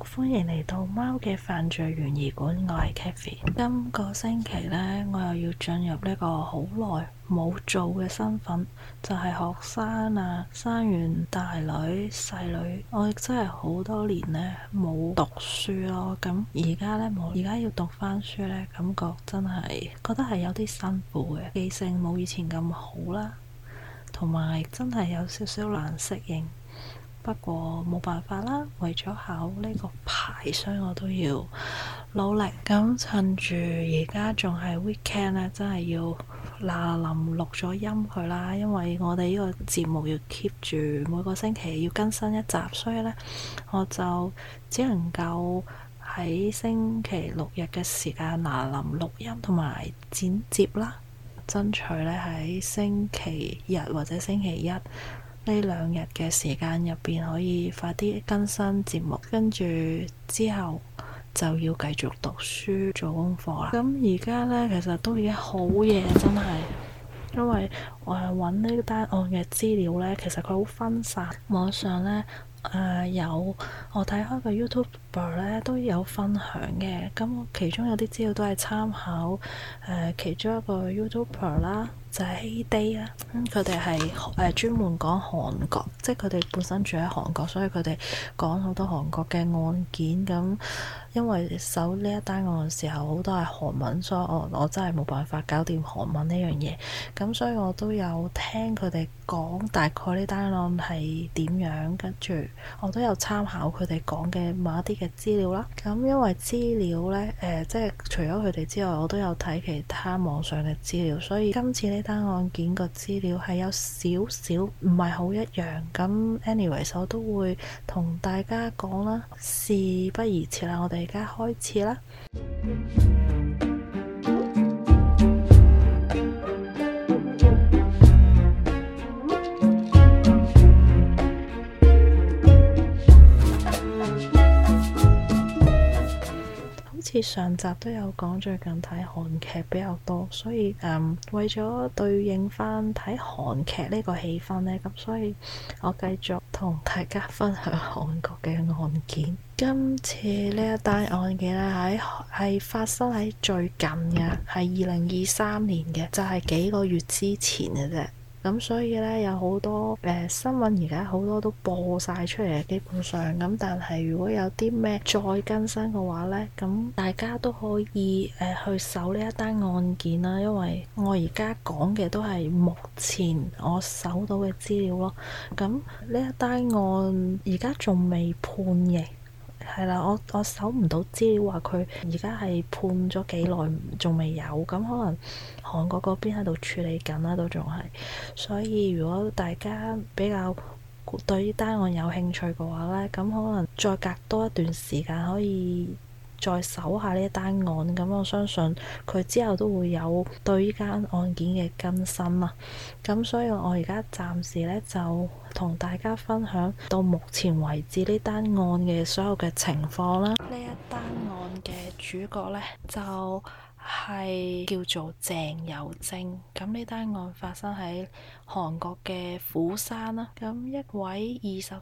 歡迎嚟到貓嘅犯罪懸疑館，我係 Kathy。今個星期呢，我又要進入呢個好耐冇做嘅身份，就係學生啊，生完大女細女，我亦真係好多年呢冇讀書咯。咁而家呢，而家要讀翻書呢，感覺真係覺得係有啲辛苦嘅，記性冇以前咁好啦，同埋真係有少少難適應。不過冇辦法啦，為咗考呢個牌，所以我都要努力。咁趁住而家仲係 weekend 咧，真係要嗱臨錄咗音佢啦，因為我哋呢個節目要 keep 住每個星期要更新一集，所以呢，我就只能夠喺星期六日嘅時間嗱臨錄音同埋剪接啦，爭取呢喺星期日或者星期一呢兩日嘅時間入邊可以快啲更新節目，跟住之後就要繼續讀書做功課啦。咁而家呢，其實都已經好夜，真係，因為我係揾呢單案嘅資料呢，其實佢好分散，網上呢，有我睇開個 YouTuber 呢都有分享嘅，咁其中有啲資料都係參考其中一個 YouTuber 啦，就係 HeyDay 啦，佢哋係專門講韓國，即係佢哋本身住喺韓國，所以佢哋講好多韓國嘅案件。咁因為搜呢一單案嘅時候好多係韓文，所以我真係冇辦法搞掂韓文呢樣嘢，咁所以我都有聽佢哋講大概呢單案係點樣，跟住我都有參考佢哋講嘅某一啲嘅資料啦。咁因為資料呢，即係除咗佢哋之外，我都有睇其他網上嘅資料，所以今次呢單案件個資料係有少少唔係好一樣。咁 anyways 我都會同大家講啦，事不宜遲啦，我哋而家開始啦。好似上集都有講，最近睇韓劇比較多，所以為咗對應翻睇韓劇呢個氣氛呢，咁所以我繼續同大家分享韓國嘅案件。今次呢一單案件呢，係發生喺最近嘅，係2023年嘅，就係幾個月之前嘅啫。咁所以呢，有好多新聞而家好多都播晒出嚟，基本上咁。但係如果有啲咩再更新嘅話呢，咁大家都可以去搜呢一單案件啦。因為我而家講嘅都係目前我搜到嘅資料咯。咁呢一單案而家仲未判刑。係啦，我搜唔到資料話佢而家係判咗幾耐，仲未有。咁可能韓國嗰邊喺度處理緊啦，都仲係。所以如果大家比較對呢單案有興趣嘅話呢，咁可能再隔多一段時間可以再搜下呢一單案。咁我相信佢之後都會有對呢間案件嘅更新啦。咁所以我而家暫時呢，就同大家分享到目前為止呢單案嘅所有嘅情況啦。呢一單案嘅主角呢，就係叫做鄭有晶。咁呢單案發生喺韓國嘅釜山啦。咁一位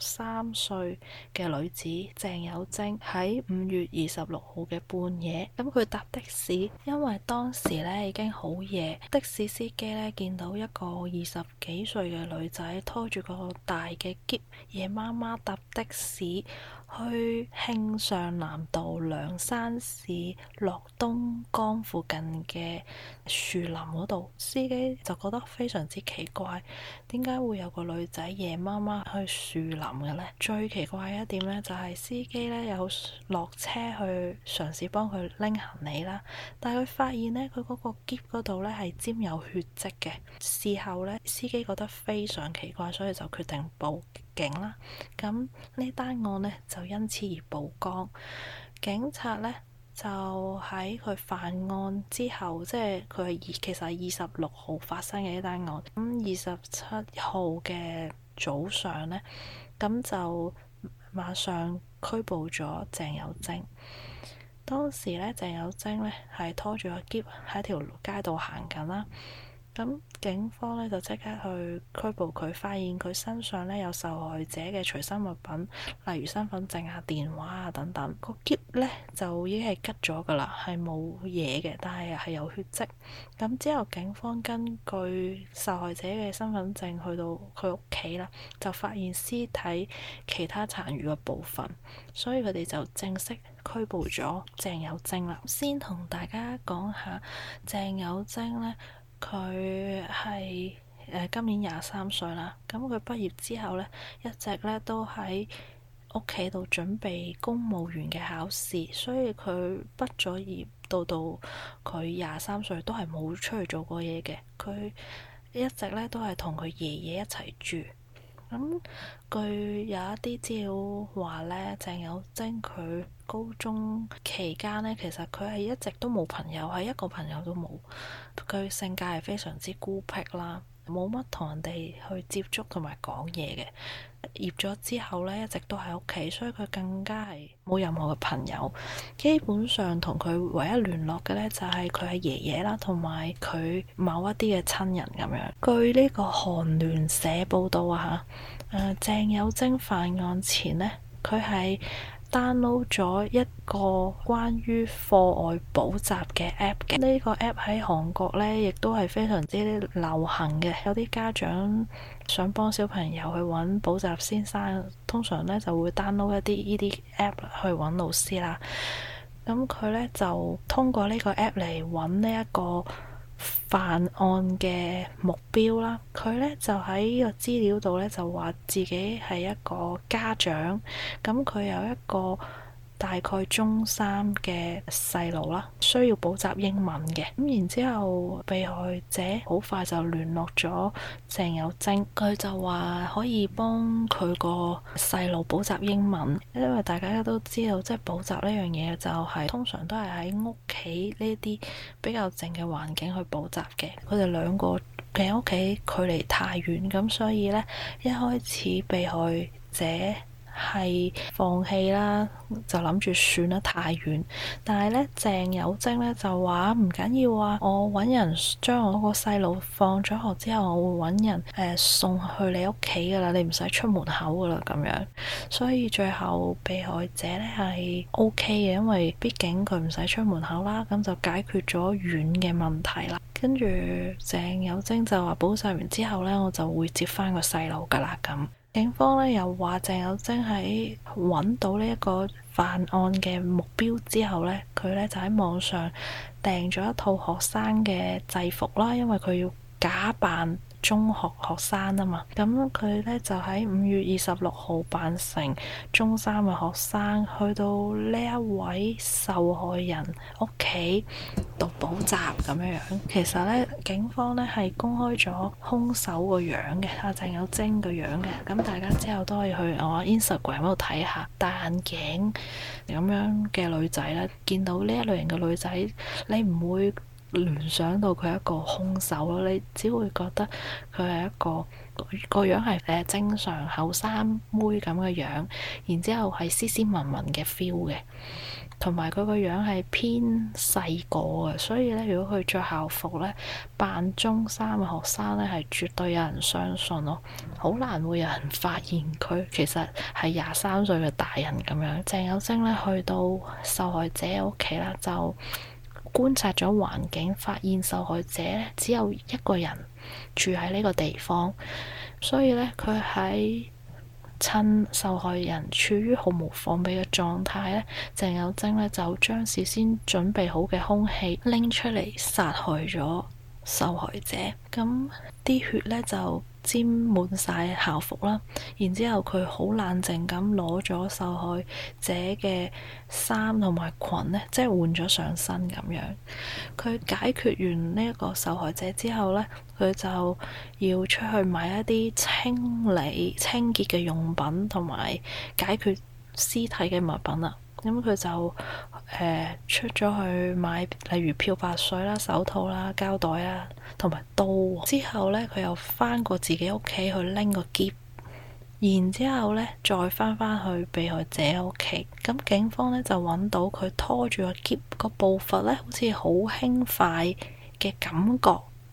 23歲嘅女子鄭有晶喺5月26號嘅半夜，咁佢搭的士，因為當時呢已經好夜，的士司機呢見到一個20幾歲嘅女仔拖住個大嘅篋，夜媽媽搭的士去慶尚南道梁山市樂東江附近嘅樹林嗰度，司機就覺得非常之奇怪，點解會有個女仔夜媽媽去樹林嘅呢？最奇怪嘅一點呢，就係司機呢有落車去嘗試幫佢拎行李啦，但係佢發現呢，佢嗰個篋嗰度呢係沾有血跡嘅。事後呢，司機覺得非常奇怪，所以就決定報警啦。咁呢單案呢，就因此而曝光。警察呢，就喺佢犯案之後，即係佢其實係26號發生嘅呢單案。咁27號嘅早上呢，咁就馬上拘捕咗鄭有晶。當時呢，鄭有晶呢係拖住個篋喺條街度行緊啦。 咁警方咧就即刻去拘捕佢，發現佢身上咧有受害者嘅隨身物品，例如身份證啊、電話啊等等。個篋咧就已經係吉咗噶啦，係冇嘢嘅，但係有血跡。咁之後警方根據受害者嘅身份證去到佢屋企啦，就發現屍體其他殘餘嘅部分，所以佢哋就正式拘捕咗鄭有晶啦。先同大家講下鄭有晶咧。佢係今年23歲啦，咁佢畢業之後呢，一直咧都喺屋企度準備公務員嘅考試，所以佢畢咗業到佢23歲都係冇出去做過嘢嘅。佢一直咧都係同佢爺爺一齊住。咁據有一啲資料話呢，鄭有晶佢高中期間呢，其實佢係一直都冇朋友，係一個朋友都冇。佢性格係非常之孤僻啦，冇乜同人哋去接觸同埋講嘢嘅。業咗之後呢，一直都喺屋企，所以佢更加係冇任何嘅朋友。基本上同佢唯一聯絡嘅呢，就係佢係爺爺啦，同埋佢某一啲嘅親人咁樣。據呢個韓聯社報道啊，鄭有晶犯案前呢，佢係download 咗一個關於課外補習嘅 app 嘅。呢個 app 喺韓國呢，亦都係非常之流行嘅。有啲家長想幫小朋友去揾補習先生，通常呢就會 download 一啲呢啲 app 去揾老師啦。咁佢呢就通過呢個 app 嚟揾呢一個犯案嘅目標啦。佢呢就喺呢個資料度呢，就話自己係一個家長，咁佢有一個大概中3嘅細路啦，需要補習英文嘅。咁然之後被害者好快就聯絡咗鄭有晶，佢就話可以幫佢個細路補習英文，因為大家都知道即係補習呢樣嘢就係通常都係喺屋企呢啲比較靜嘅環境去補習嘅。佢哋兩個嘅屋企距離太遠，咁所以呢，一開始被害者係放棄啦，就諗住算啦，太遠。但係呢，鄭有晶呢就話唔緊要啊，我揾人將我個細路放咗學之後，我會揾人送去你屋企噶啦，你唔使出門口噶啦咁樣。所以最後被害者呢係 OK 嘅，因為畢竟佢唔使出門口啦，咁就解決咗遠嘅問題啦。跟住鄭有晶就話補習完之後呢，我就會接翻個細路噶啦咁。警方呢又話鄭有晶喺揾到呢一個犯案嘅目標之後呢，佢呢就喺網上訂咗一套學生嘅制服啦，因為佢要假扮中學學生啊嘛。咁佢呢就喺5月26號扮成中3嘅學生，去到呢一位受害人屋企度補習咁樣樣。其實呢，警方呢係公開咗兇手個樣嘅，阿鄭有晶個樣嘅。咁大家之後都可以去我 Instagram 嗰度睇下，戴眼鏡咁樣嘅女仔呢，見到呢一類型嘅女仔，你唔會聯想到佢係一個兇手咯，你只會覺得佢係一個樣係正常後生妹咁嘅樣，然之後係斯斯文文嘅 feel 嘅，同埋佢個樣係偏細個嘅，所以咧如果佢着校服咧扮中3嘅學生咧，係絕對有人相信咯，好難會有人發現佢其實係23歲嘅大人咁樣。鄭有晶咧去到受害者屋企啦，就觀察咗環境，發現受害者只有一個人住喺呢個地方，所以呢，佢喺趁受害人處於毫無防備嘅狀態呢，鄭有晶呢就將事先準備好嘅兇器拎出嚟殺害咗受害者。咁啲血呢就沾滿晒校服啦，然之後佢好冷靜咁攞咗受害者嘅衫同埋裙呢，即係換咗上身咁樣。佢解決完呢一個受害者之後呢，佢就要出去買一啲清潔嘅用品同埋解決屍體嘅物品啦。咁佢就出咗去買，例如漂白水啦、手套啦、膠袋啦，同埋刀。之後呢，佢又翻過自己屋企去拎個篋，然之後呢，再翻去被害者屋企。咁警方呢，就揾到佢拖住個篋個步伐呢，好似好輕快嘅感覺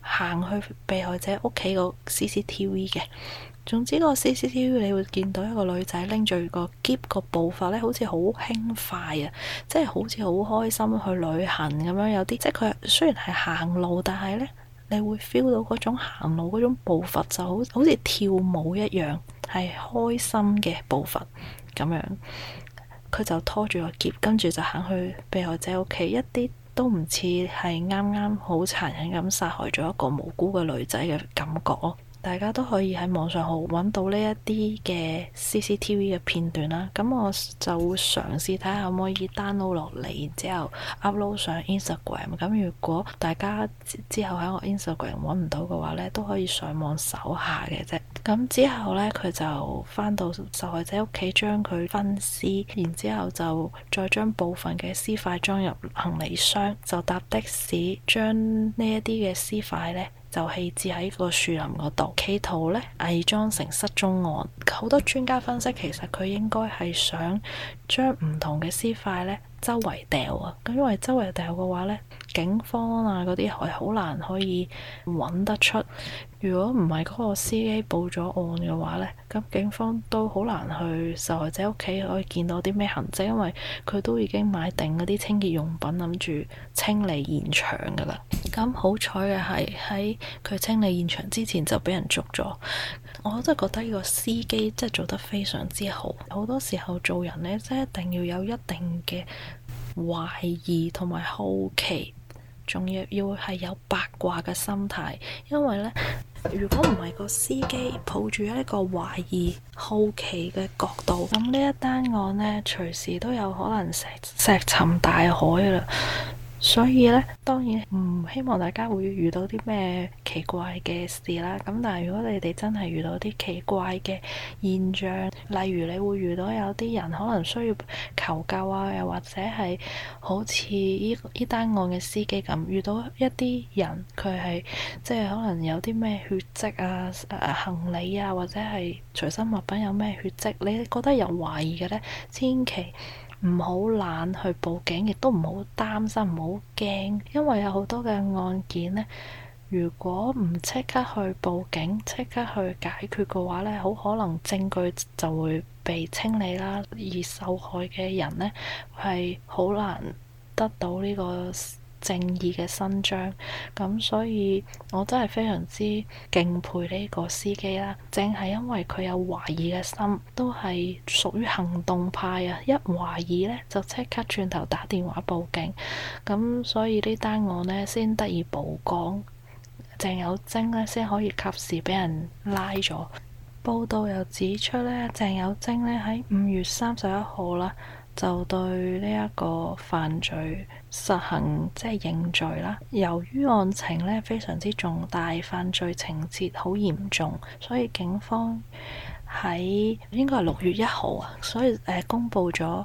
行去被害者屋企個 CCTV 嘅。總之個 CCTV 你會見到一個女仔拎住個篋，個步伐咧好似好輕快啊，即係好似好開心去旅行咁樣。有啲即係佢雖然係行路，但係咧你會 feel 到嗰種行路嗰種步伐就好似跳舞一樣，係開心嘅步伐咁樣。佢就拖住個篋，跟住就行去被害者屋企，一啲都唔似係啱啱好殘忍咁殺害咗一個無辜嘅女仔嘅感覺咯。大家都可以喺網上好揾到呢一啲嘅 CCTV 嘅片段啦。咁我就會嘗試睇下可唔可以 download 落嚟，然之後 upload 上 Instagram。咁如果大家之後喺我 Instagram 揾唔到嘅話呢，都可以上網搜下嘅啫。咁之後呢，佢就返到受害者屋企，將佢分屍，然之後就再將部分嘅屍塊裝入行李箱，就搭的士將呢一啲嘅屍塊呢就棄置喺個樹林嗰度，企圖呢偽裝成失蹤案。好多專家分析，其實佢應該係想將唔同嘅屍塊呢周圍掉啊。咁因為周圍掉嘅話呢，警方啊嗰啲係好難可以揾得出。如果唔係嗰個司機報咗案嘅話呢，咁警方都好難去受害者屋企可以見到啲咩痕跡，因為佢都已經買定嗰啲清潔用品，諗住清理現場噶啦。咁好彩嘅係喺佢清理現場之前就俾人捉咗。我真係覺得呢個司機真係做得非常之好。好多時候做人呢，真係一定要有一定嘅懷疑同埋好奇，仲要係有八卦嘅心態，因為呢，如果唔係個司機抱住一個懷疑、好奇嘅角度，咁呢一單案呢，隨時都有可能石沉大海啦。所以呢，當然唔希望大家會遇到啲咩奇怪嘅事啦。咁但係如果你哋真係遇到啲奇怪嘅現象，例如你會遇到有啲人可能需要求救啊，又或者係好似呢單案嘅司機咁，遇到一啲人佢係即係可能有啲咩血跡啊、行李啊，或者係隨身物品有咩血跡，你覺得有懷疑嘅呢，千祈唔好懶去報警，亦都唔好擔心，唔好驚，因為有好多嘅案件呢，如果唔即刻去報警，即刻去解決嘅話呢，好可能證據就會被清理啦，而受害嘅人呢，係好難得到呢個正義嘅伸張。咁所以我真係非常之敬佩呢個司機啦，正係因為佢有懷疑嘅心，都係屬於行動派啊，一懷疑呢，就即刻轉頭打電話報警，咁所以呢單案呢，先得以曝光，鄭有晶呢，先可以及時俾人拉咗。報道又指出呢，鄭有晶呢，喺5月31號啦，就對呢一個犯罪實行即係認罪啦。由於案情呢非常之重大，犯罪情節好嚴重，所以警方喺應該係6月1號啊，所以公佈咗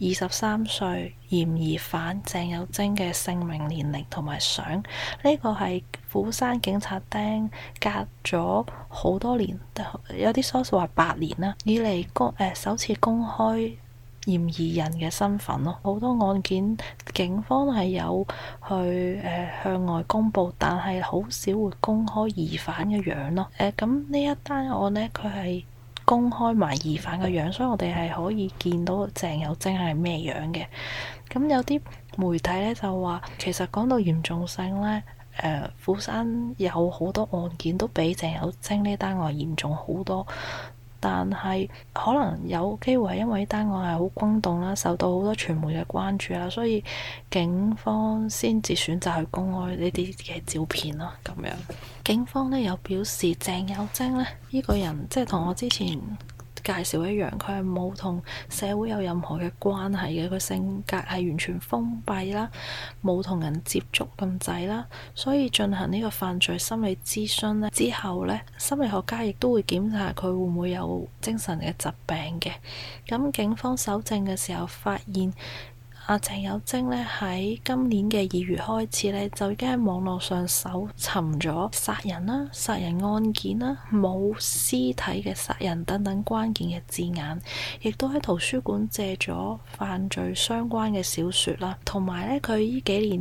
23歲嫌疑犯鄭有晶嘅姓名、年齡同埋相。呢個係釜山警察廳隔咗好多年，有啲 source 話8年啦，以嚟首次公開嫌疑人嘅身份咯。好多案件警方係有去向外公佈，但係好少會公開疑犯嘅樣咯。咁呢一單案呢，佢係公開埋疑犯嘅樣，所以我哋係可以見到鄭有晶係咩樣嘅。咁有啲媒體呢就話，其實講到嚴重性呢，釜山有好多案件都比鄭有晶呢單案嚴重好多。但係可能有機會係因為呢單案係好轟動啦，受到好多傳媒嘅關注啦，所以警方先至選擇去公開呢啲嘅照片咯。咁樣警方呢有表示，鄭有晶呢個人即係同我之前介紹一樣，佢係冇同社會有任何嘅關係嘅，佢性格係完全封閉啦，冇同人接觸咁滯啦，所以進行呢個犯罪心理諮詢咧之後呢，心理學家亦都會檢查佢會唔會有精神嘅疾病嘅。咁警方搜證嘅時候發現，鄭有晶呢喺今年嘅2月開始呢，就已經喺網絡上搜尋咗殺人啦、殺人案件啦、冇屍體嘅殺人等等關鍵嘅字眼，亦都喺圖書館借咗犯罪相關嘅小說啦，同埋呢，佢呢幾年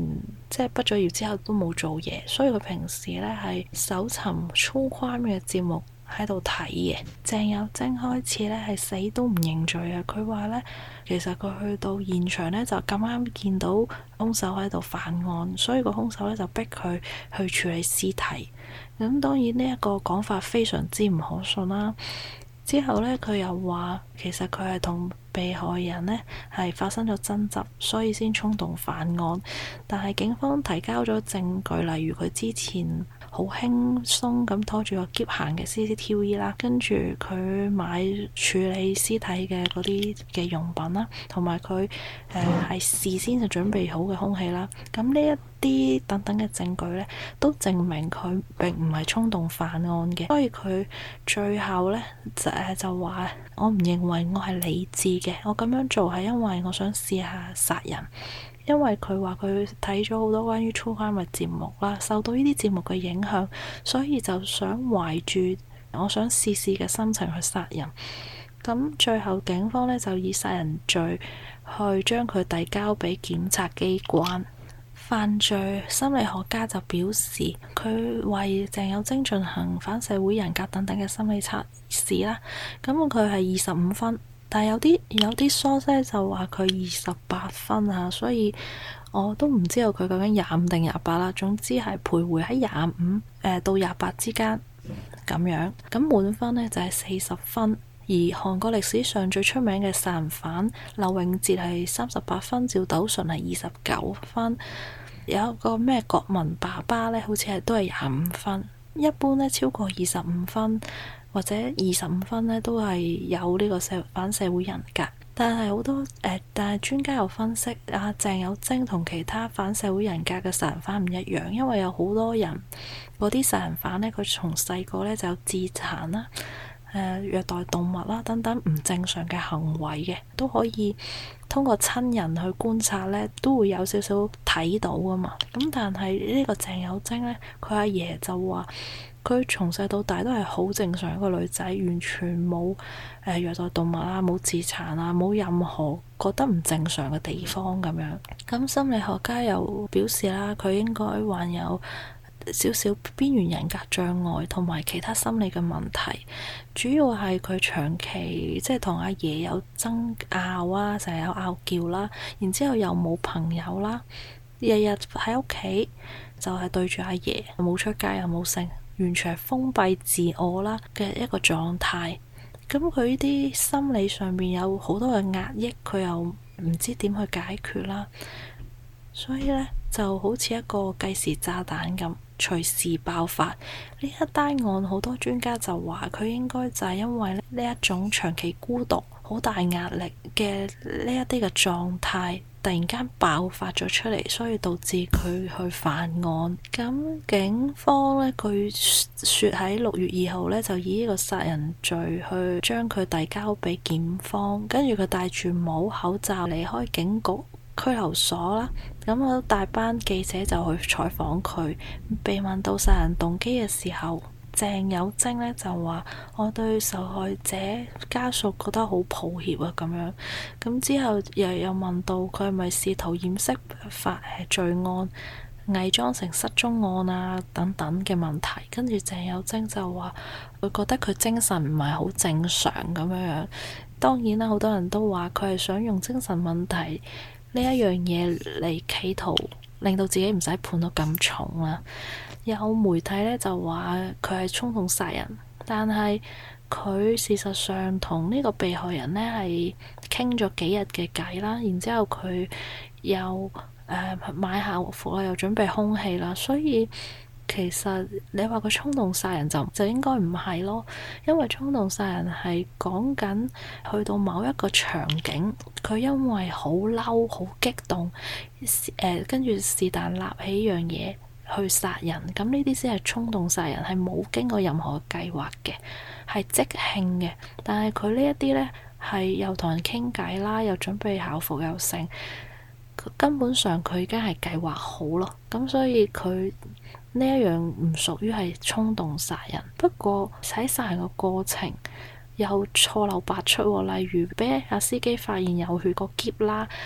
即係畢咗業之後都冇做嘢，所以佢平時呢係搜尋 true crime 嘅節目喺度睇嘅。鄭有晶開始呢係死都唔認罪啊！佢話呢，其實佢去到現場呢，就咁啱見到兇手喺度犯案，所以個兇手呢就逼佢去處理屍體。咁當然呢一個講法非常之唔可信啦。之後呢，佢又話其實佢係同被害人呢係發生咗爭執，所以先衝動犯案。但係警方提交咗證據，例如佢之前好輕鬆咁拖住個篋行嘅 CCTV 啦，跟住佢買處理屍體嘅嗰啲嘅用品啦，同埋佢係事先就準備好嘅兇器啦。咁呢一啲等等嘅證據呢，都證明佢並唔係衝動犯案嘅。所以佢最後呢，就話我唔認為我係理智嘅，我咁樣做係因為我想試下殺人。因為佢話佢睇咗好多關於 true crime 嘅節目啦，受到呢啲節目嘅影響，所以就想懷住我想試試嘅心情去殺人。咁最後警方呢，就以殺人罪去將佢遞交俾檢察機關。犯罪心理學家就表示，佢為鄭有晶進行反社會人格等等嘅心理測試啦。咁佢係25分。但係有啲 source 就話佢28分啊，所以我都唔知道佢究竟25定28啦。總之係徘徊喺25到28之間咁樣。咁滿分呢就係40分，而韓國歷史上最出名嘅殺人犯劉永哲係38分，趙斗淳係29分，有一個咩國民爸爸呢，好似係都係25分。一般呢，超過25分或者25分呢，都係有呢個反社會人格。但係好多但係專家又分析啊，鄭有晶同其他反社會人格嘅殺人犯唔一樣，因為有好多人嗰啲殺人犯呢，佢從細個呢就有自殘啦、虐待動物啦等等唔正常嘅行為嘅，都可以通過親人去觀察呢，都會有少少睇到㗎嘛。咁但係呢個鄭有晶呢，佢阿爺就話佢從細到大都係好正常一個女仔，完全冇虐待動物啦，冇自殘啊，冇任何覺得唔正常嘅地方咁樣。咁心理學家又表示啦，佢應該患有少少邊緣人格障礙同埋其他心理嘅問題，主要係佢長期即係同阿爺有爭拗啊，成日有拗撬啦，然之後又冇朋友啦，日日喺屋企就係對住阿爺，冇出街又冇性，完全係封閉自我啦嘅一個狀態。咁佢呢啲心理上面有好多嘅壓抑，佢又唔知點去解決啦，所以呢，就好似一個計時炸彈咁，隨時爆發。呢一單案好多專家就話佢應該就係因為呢一種長期孤獨、好大壓力嘅呢一啲嘅狀態突然間爆發咗出嚟，所以導致佢去犯案。咁警方呢，據說喺6月2號呢，就以呢個殺人罪去將佢遞交俾檢方，跟住佢戴住帽口罩離開警局拘留所啦。咁我大班記者就去採訪佢，被問到殺人動機嘅時候，鄭有晶呢就話：我對受害者家屬覺得好抱歉啊咁樣。咁之後又問到佢係咪試圖掩飾罪案、偽裝成失蹤案啊等等嘅問題。跟住鄭有晶就話：佢覺得佢精神唔係好正常咁樣。當然啦，好多人都話佢係想用精神問題呢一樣嘢嚟企圖令到自己唔使判到咁重啦。有媒體呢就話佢係衝動殺人，但係佢事實上同呢個被害人呢係傾咗幾日嘅偈啦，然之後佢又買校服啦，又準備兇器啦，所以其實你話佢衝動殺人就應該唔係咯，因為衝動殺人係講緊去到某一個場景，佢因為好嬲、好激動，跟住是但立起樣嘢去殺人，咁呢啲先係衝動殺人，係冇經過任何計劃嘅，係即興嘅。但係佢呢一啲呢，係又同人傾偈啦，又準備校服又成，根本上佢已經係計劃好咯。咁所以佢呢一樣唔屬於係衝動殺人。不過喺殺人嘅過程又錯漏百出，例如俾阿司機發現有血個篋啦。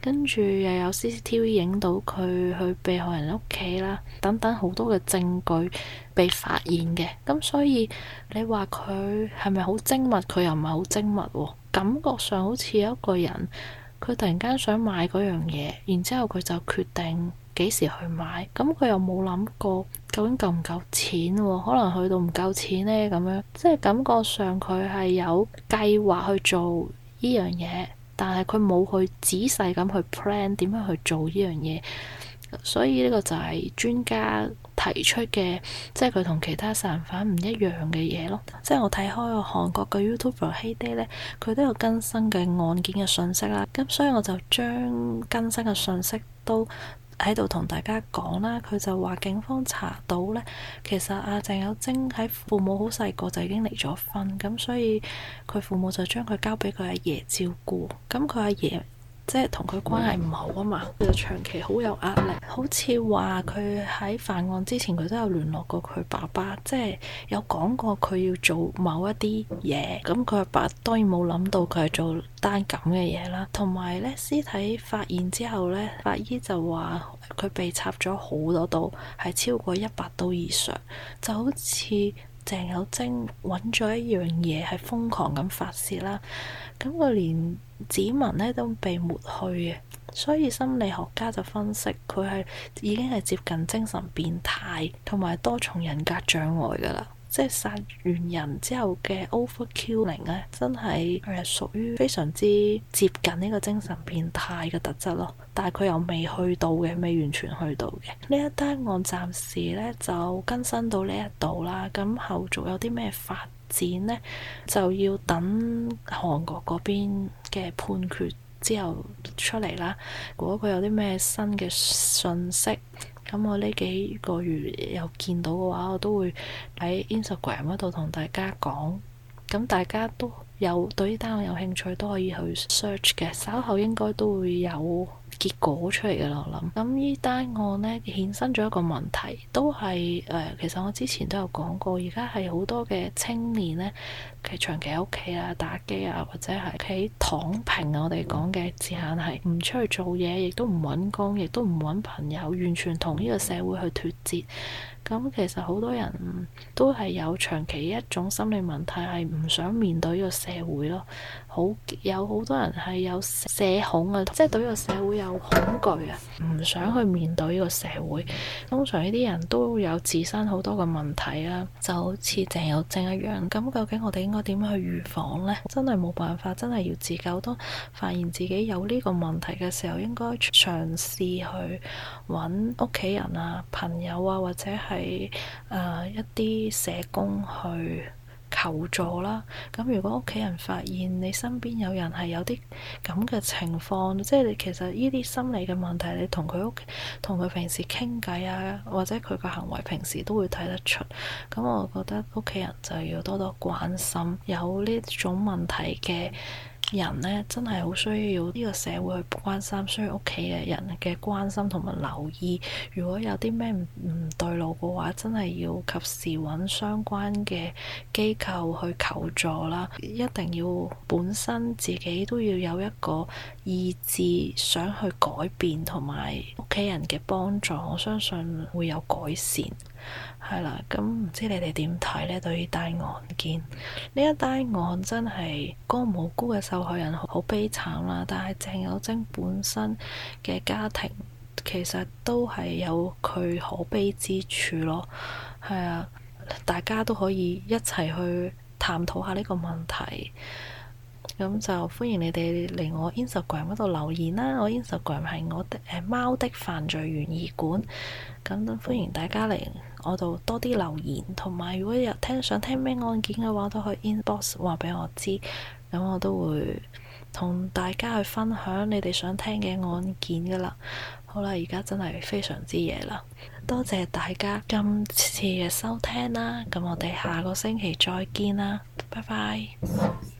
跟住又有 CCTV 影到佢去被害人屋企啦，等等好多嘅證據被發現嘅。咁所以你話佢係咪好精密？佢又唔係好精密喎，感覺上好似有一個人，佢突然間想買嗰樣嘢，然之後佢就決定幾時去買，咁佢又冇諗過究竟夠唔夠錢喎？可能去到唔夠錢呢，咁樣即係感覺上佢係有計劃去做呢樣嘢，但係佢冇去仔細咁去 plan 點樣去做呢樣嘢，所以呢個就係專家提出嘅，即係佢同其他殺人犯唔一樣嘅嘢咯。即係我睇開個韓國嘅 YouTuber HeyDay 呢，佢都有更新嘅案件嘅信息啦，咁所以我就將更新嘅信息都喺度同大家講啦。佢就話警方查到呢，其實阿鄭有晶喺父母好細個就已經離咗婚，咁所以佢父母就將佢交俾佢阿爺照顧，咁佢阿爺即係同佢關係唔好啊嘛，佢就長期好有壓力。好似話佢喺犯案之前，佢都有聯絡過佢爸爸，即係有講過佢要做某一啲嘢。咁佢阿爸當然冇諗到佢係做單咁嘅嘢啦。同埋呢，屍體發現之後呢，法醫就話佢被插咗好多刀，係超過100刀以上，就好似鄭有晶揾咗一樣嘢係瘋狂咁發泄啦。咁佢連指紋呢都被抹去嘅，所以心理學家就分析佢係已經係接近精神變態同埋多重人格障礙噶啦。即係殺完人之後嘅 overkilling 呢，真係屬於非常之接近呢個精神變態嘅特質咯。但係佢又未去到嘅，未完全去到嘅。呢一單案暫時呢就更新到呢一度啦。咁後續有啲咩發展呢，就要等韓國嗰邊嘅判決之後出嚟啦。如果佢有啲咩新嘅信息，咁我呢幾個月有見到嘅話，我都會喺 Instagram 嗰度同大家講。咁大家都有對呢單案有興趣，都可以去 search 嘅。稍後應該都會有結果出嚟嘅啦，我諗。咁呢單案呢，衍生咗一個問題，都係其實我之前都有講過，而家係好多嘅青年呢，其實長期喺屋企啊打機啊，或者係屋企躺平啊，我哋講嘅字眼係唔出去做嘢，亦都唔揾工，亦都唔揾朋友，完全同呢個社會去脫節。咁其實好多人都係有長期一種心理問題，係唔想面對呢個社會咯。有好多人係有社恐啊，即係對呢個社會有恐懼啊，唔想去面對呢個社會。通常呢啲人都有自身好多嘅問題啊，就好似鄭有晶一樣。咁究竟我哋應該點樣去預防呢？真係冇辦法，真係要自救。當發現自己有呢個問題嘅時候，應該嘗試去揾屋企人啊、朋友啊，或者係一啲社工去求助啦。咁如果屋企人發現你身邊有人係有啲咁嘅情況，即係你其實呢啲心理嘅問題，你同佢平時傾偈啊，或者佢個行為平時都會睇得出。咁我覺得屋企人就要多多關心有呢種問題嘅人呢，真係好需要呢個社會去關心，需要屋企嘅人嘅關心同埋留意。如果有啲咩唔對路嘅話，真係要及時揾相關嘅機構去求助啦。一定要本身自己都要有一個意志想去改變，同埋屋企人嘅幫助，我相信會有改善。係啦，咁唔知你哋點睇呢？對於單案件，呢一單案真係個無辜嘅受害人好悲慘啦。但係鄭有晶本身嘅家庭其實都係有佢可悲之處咯。係啊，大家都可以一齊去探討下呢個問題。咁就歡迎你哋嚟我 Instagram 嗰度留言啦。我 Instagram 係我的貓的犯罪懸疑館。咁都歡迎大家嚟我度多啲留言，同埋如果有想聽咩案件嘅話，都可以 inbox 話俾我知。咁我都會同大家去分享你哋想聽嘅案件噶啦。好啦，而家真係非常之夜啦，多謝大家今次嘅收聽啦。咁我哋下個星期再見啦，拜拜。